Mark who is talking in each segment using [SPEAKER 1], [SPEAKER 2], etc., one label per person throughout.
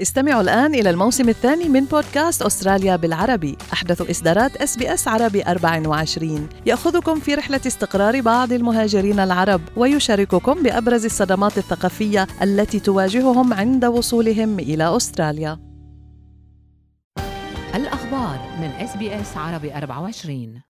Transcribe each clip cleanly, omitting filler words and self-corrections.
[SPEAKER 1] استمعوا الآن إلى الموسم الثاني من بودكاست أستراليا بالعربي، أحدث إصدارات SBS عربي 24، يأخذكم في رحلة استقرار بعض المهاجرين العرب ويشارككم بأبرز الصدمات الثقافية التي تواجههم عند وصولهم إلى أستراليا.
[SPEAKER 2] الأخبار من SBS عربي 24.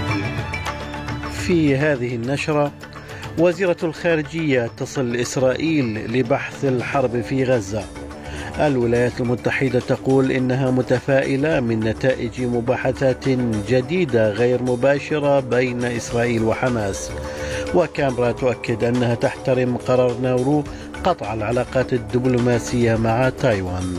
[SPEAKER 3] في هذه النشرة، وزيرة الخارجية تصل إسرائيل لبحث الحرب في غزة. الولايات المتحدة تقول إنها متفائلة من نتائج مباحثات جديدة غير مباشرة بين إسرائيل وحماس. وكامبرا تؤكد أنها تحترم قرار ناورو قطع العلاقات الدبلوماسية مع تايوان.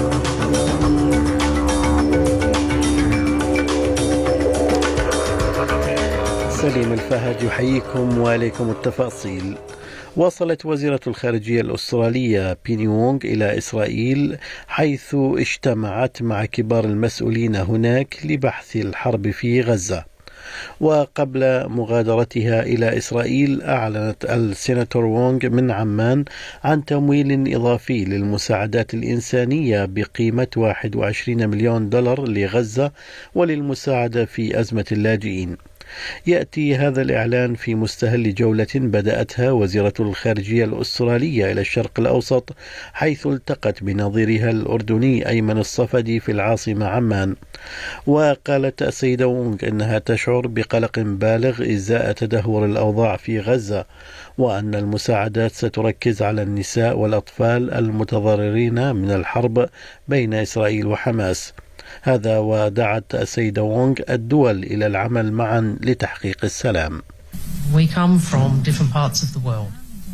[SPEAKER 3] سليم الفهد يحييكم وعليكم التفاصيل. وصلت وزيرة الخارجية الأسترالية بيني وونغ إلى إسرائيل، حيث اجتمعت مع كبار المسؤولين هناك لبحث الحرب في غزة. وقبل مغادرتها إلى إسرائيل، أعلنت السيناتور وونغ من عمان عن تمويل إضافي للمساعدات الإنسانية بقيمة $21 مليون لغزة وللمساعدة في أزمة اللاجئين. يأتي هذا الإعلان في مستهل جولة بدأتها وزيرة الخارجية الأسترالية إلى الشرق الأوسط، حيث التقت بنظيرها الأردني أيمن الصفدي في العاصمة عمان. وقالت السيدة وونغ أنها تشعر بقلق بالغ إزاء تدهور الأوضاع في غزة، وأن المساعدات ستركز على النساء والأطفال المتضررين من الحرب بين إسرائيل وحماس. هذا ودعت السيدة وونغ الدول إلى العمل معا لتحقيق السلام.
[SPEAKER 4] We come from different parts of the world.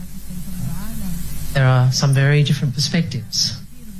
[SPEAKER 4] There are some very different perspectives.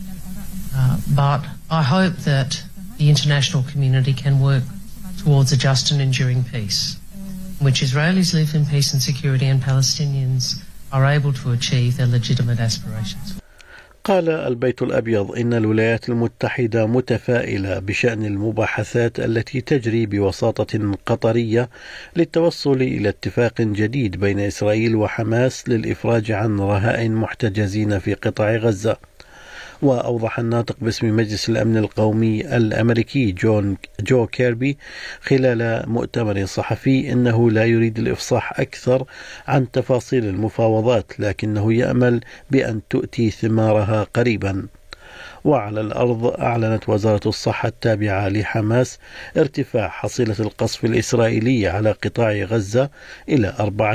[SPEAKER 4] But I hope that the international community can work towards a just and enduring peace, in which Israelis live in peace and security and Palestinians are able to achieve their legitimate aspirations.
[SPEAKER 3] قال البيت الأبيض إن الولايات المتحدة متفائلة بشأن المباحثات التي تجري بوساطة قطرية للتوصل إلى اتفاق جديد بين إسرائيل وحماس للإفراج عن رهائن محتجزين في قطاع غزة. وأوضح الناطق باسم مجلس الأمن القومي الأمريكي جو كيربي خلال مؤتمر صحفي أنه لا يريد الإفصاح أكثر عن تفاصيل المفاوضات، لكنه يأمل بأن تؤتي ثمارها قريبا. وعلى الأرض، أعلنت وزارة الصحة التابعة لحماس ارتفاع حصيلة القصف الإسرائيلي على قطاع غزة إلى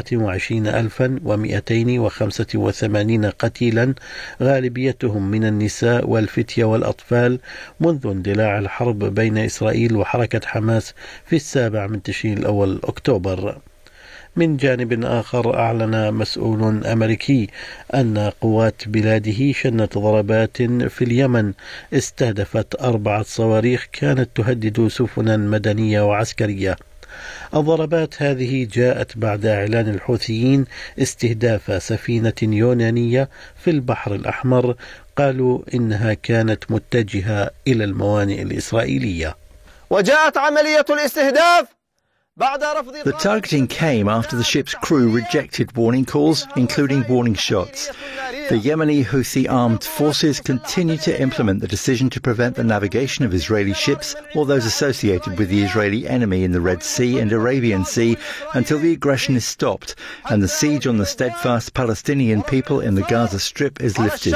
[SPEAKER 3] 24,285 قتيلا، غالبيتهم من النساء والفتية والأطفال، منذ اندلاع الحرب بين إسرائيل وحركة حماس في 7 تشرين الأول أكتوبر. من جانب آخر، أعلن مسؤول أمريكي أن قوات بلاده شنت ضربات في اليمن استهدفت 4 صواريخ كانت تهدد سفنا مدنية وعسكرية. الضربات هذه جاءت بعد إعلان الحوثيين استهداف سفينة يونانية في البحر الأحمر، قالوا إنها كانت متجهة إلى الموانئ الإسرائيلية.
[SPEAKER 5] وجاءت عملية الاستهداف.
[SPEAKER 6] The targeting came after the ship's crew rejected warning calls, including warning shots. The Yemeni Houthi armed forces continue to implement the decision to prevent the navigation of Israeli ships or those associated with the Israeli enemy in the Red Sea and Arabian Sea until the aggression is stopped and the siege on the steadfast Palestinian people in the Gaza Strip is lifted.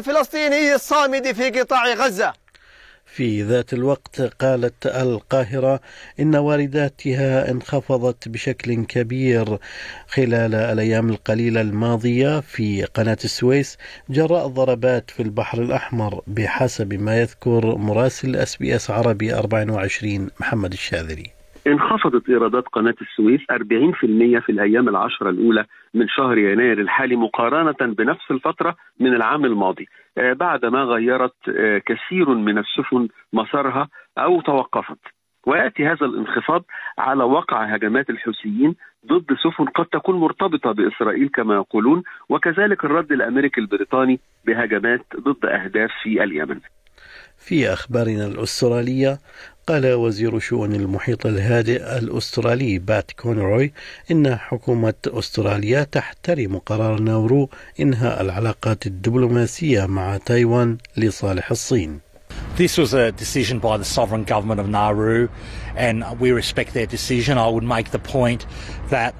[SPEAKER 3] في ذات الوقت، قالت القاهرة إن وارداتها انخفضت بشكل كبير خلال الأيام القليلة الماضية في قناة السويس جراء ضربات في البحر الأحمر، بحسب ما يذكر مراسل SBS عربي 24 محمد الشاذري.
[SPEAKER 7] انخفضت إيرادات قناة السويس 40% في الأيام العشرة الأولى من شهر يناير الحالي مقارنة بنفس الفترة من العام الماضي، بعدما غيرت كثير من السفن مسارها أو توقفت. ويأتي هذا الانخفاض على وقع هجمات الحوثيين ضد سفن قد تكون مرتبطة بإسرائيل كما يقولون، وكذلك الرد الأمريكي البريطاني بهجمات ضد أهداف في اليمن.
[SPEAKER 3] في أخبارنا الأسترالية، قال وزير شؤون المحيط الهادئ الأسترالي بات كونروي إن حكومة أستراليا تحترم قرار ناورو إنهاء العلاقات الدبلوماسية مع تايوان لصالح الصين.
[SPEAKER 8] This was a decision by the sovereign government of Nauru, and we respect their decision. I would make the point that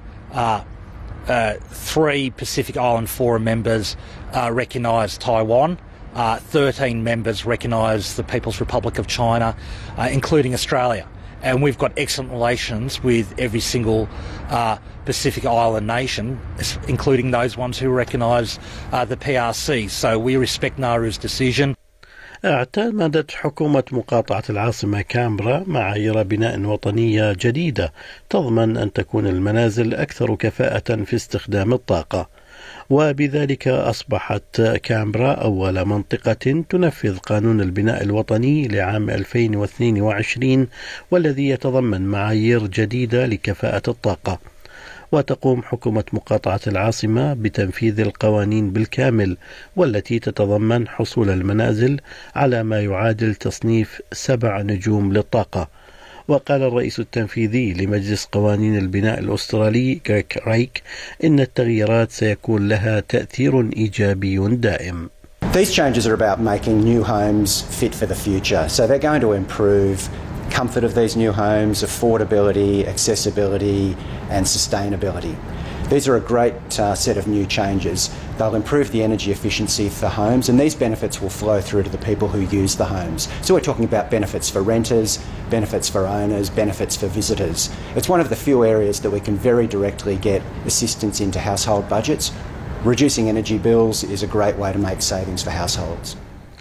[SPEAKER 8] 3 Pacific Island Forum members recognise Taiwan. 13 members recognise the People's Republic of China, including Australia. And we've got excellent relations with every single Pacific Island nation, including those ones who recognise the PRC. So we respect Nauru's decision.
[SPEAKER 3] اعتمدت حكومة مقاطعة العاصمة كامبرا معايير بناء وطنية جديدة تضمن أن تكون المنازل أكثر كفاءة في استخدام الطاقة، وبذلك أصبحت كامبرا أول منطقة تنفذ قانون البناء الوطني لعام 2022 والذي يتضمن معايير جديدة لكفاءة الطاقة. وتقوم حكومة مقاطعة العاصمة بتنفيذ القوانين بالكامل والتي تتضمن حصول المنازل على ما يعادل تصنيف 7 نجوم للطاقة. وقال الرئيس التنفيذي لمجلس قوانين البناء الأسترالي غريك رايك إن التغييرات سيكون لها تأثير إيجابي دائم.
[SPEAKER 9] These changes are about making new homes fit for the future. So they're going to improve comfort of these new homes, affordability, accessibility and sustainability. These are a great set of new changes. They'll improve the energy efficiency for homes, and these benefits will flow through to the people who use the homes. So we're talking about benefits for renters, benefits for owners, benefits for visitors. It's one of the few areas that we can very directly get assistance into household budgets. Reducing energy bills is a great way to make savings for households.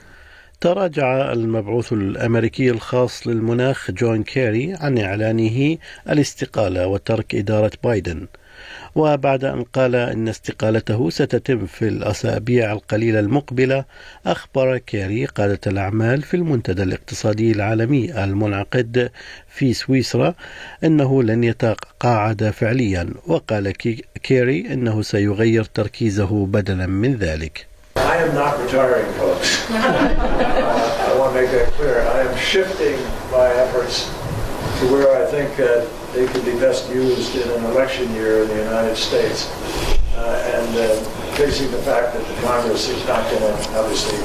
[SPEAKER 3] تراجع المبعوث الأمريكي الخاص للمناخ جون كيري عن إعلانه الاستقالة وترك إدارة بايدن، وبعد أن قال إن استقالته ستتم في الأسابيع القليلة المقبلة، أخبر كيري قادة الأعمال في المنتدى الاقتصادي العالمي المنعقد في سويسرا أنه لن يتقاعد فعليا. وقال كيري أنه سيغير تركيزه بدلا من ذلك.
[SPEAKER 10] I am not retiring, folks. I want to make that clear. I am shifting my efforts to where I think they could be best used in an election year in the United States, and facing the fact that the Congress is not going to obviously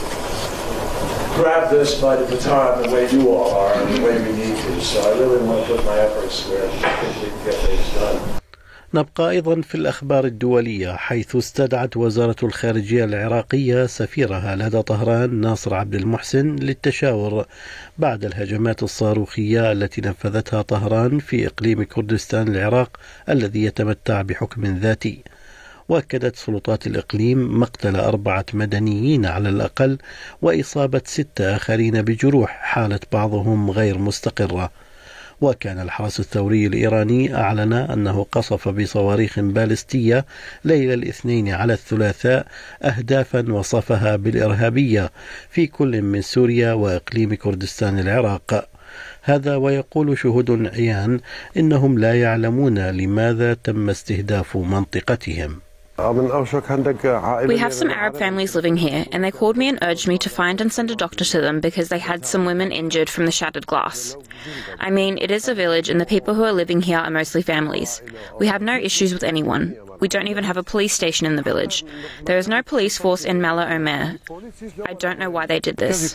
[SPEAKER 10] grab this by the baton the way you all are and the way we need to. So I really want to put my efforts where I think we can get things done.
[SPEAKER 3] نبقى أيضا في الأخبار الدولية، حيث استدعت وزارة الخارجية العراقية سفيرها لدى طهران ناصر عبد المحسن للتشاور بعد الهجمات الصاروخية التي نفذتها طهران في إقليم كردستان العراق الذي يتمتع بحكم ذاتي. وأكدت سلطات الإقليم مقتل 4 مدنيين على الأقل وإصابة 6 آخرين بجروح حالة بعضهم غير مستقرة. وكان الحرس الثوري الإيراني أعلن أنه قصف بصواريخ باليستية ليلة الاثنين على الثلاثاء أهدافا وصفها بالإرهابية في كل من سوريا وإقليم كردستان العراق. هذا ويقول شهود عيان إنهم لا يعلمون لماذا تم استهداف منطقتهم.
[SPEAKER 11] We have some Arab families living here, and they called me and urged me to find and send a doctor to them because they had some women injured from the shattered glass. I mean, it is a village and the people who are living here are mostly families. We have no issues with anyone. We don't even have a police station in the village. There is no police force in Mala Omer. I don't know why they did this.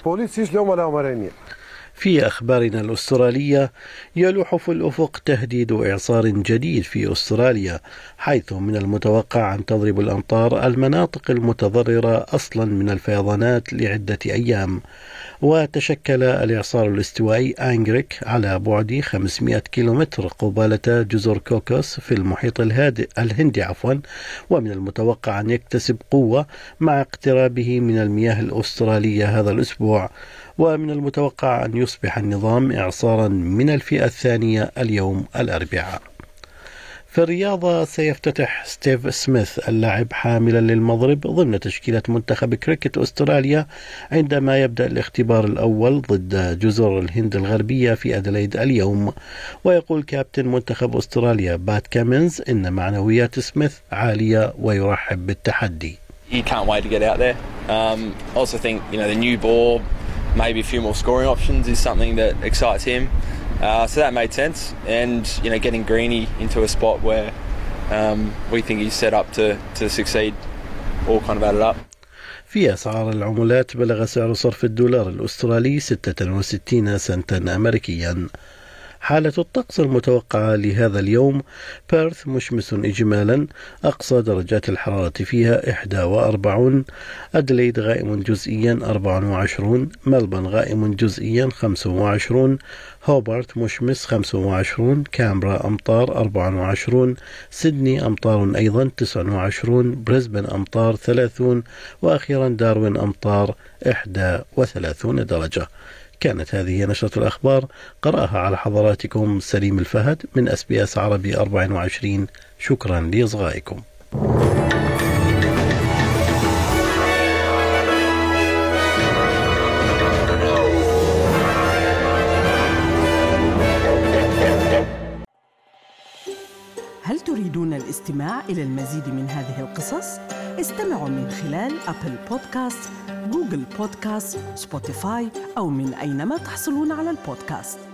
[SPEAKER 3] في أخبارنا الأسترالية، يلوح في الأفق تهديد إعصار جديد في أستراليا، حيث من المتوقع أن تضرب الأمطار المناطق المتضررة أصلا من الفيضانات لعدة أيام. وتشكل الإعصار الاستوائي أنغريك على بعد 500 كيلومتر قبالة جزر كوكوس في المحيط الهندي ومن المتوقع أن يكتسب قوة مع اقترابه من المياه الأسترالية هذا الأسبوع. ومن المتوقع أن يصبح النظام إعصارا من الفئة الثانية اليوم الأربعاء. في الرياضة، سيفتتح ستيف سميث اللاعب حاملا للمضرب ضمن تشكيلة منتخب كريكت أستراليا عندما يبدأ الاختبار الأول ضد جزر الهند الغربية في أدليد اليوم. ويقول كابتن منتخب أستراليا بات كامينز إن معنويات سميث عالية ويرحب بالتحدي.
[SPEAKER 12] You can't wait to get out there. Also think, the new ball, maybe a few more scoring options is something that excites him. So that made sense, and getting Greeny into a spot where we think he's set up to succeed all kind of added up.
[SPEAKER 3] في أسعار العملات بلغ سعر صرف الدولار الأسترالي 66 سنتا أمريكيا. حالة الطقس المتوقعة لهذا اليوم: بيرث مشمس إجمالا، أقصى درجات الحرارة فيها 41، أدليد غائم جزئيا 24، ملبن غائم جزئيا 25، هوبارت مشمس 25، كامبرا أمطار 24، سيدني أمطار أيضا 29، بريسبن أمطار 30، وأخيرا داروين أمطار 31 درجة. كانت هذه نشرة الأخبار، قرأها على حضراتكم سليم الفهد من SBS عربي 24. شكرا لإصغائكم.
[SPEAKER 13] هل تريدون الاستماع إلى المزيد من هذه القصص؟ استمعوا من خلال أبل بودكاست، جوجل بودكاست، سبوتيفاي أو من أينما تحصلون على البودكاست.